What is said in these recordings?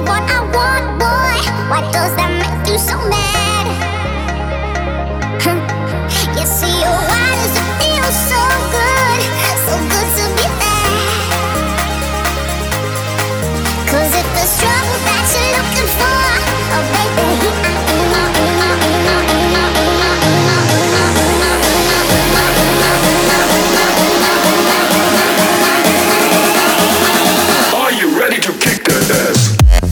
what I want, boy. Why does that make you so mad? You see, oh, why does it feel so good? So good to be there. 'Cause if there's trouble that you're looking for, oh baby, here I am. Are you ready to kick that ass?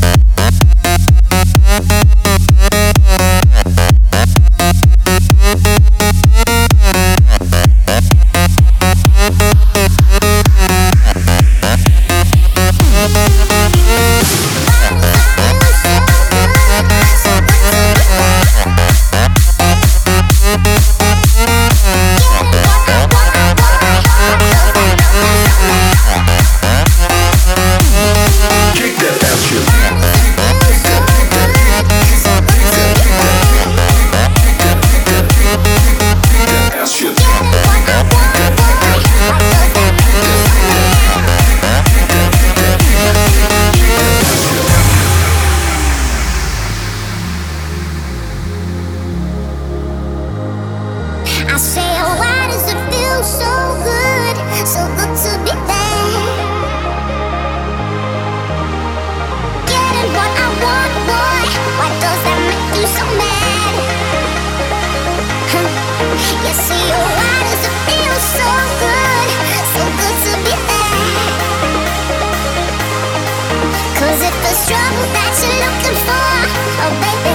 I say, oh, why does it feel so good? So good to be there. Getting what I want, boy. Why does that make you so mad? You see, oh, why does it feel so good? So good to be there. 'Cause if there's trouble that you're looking for, oh baby,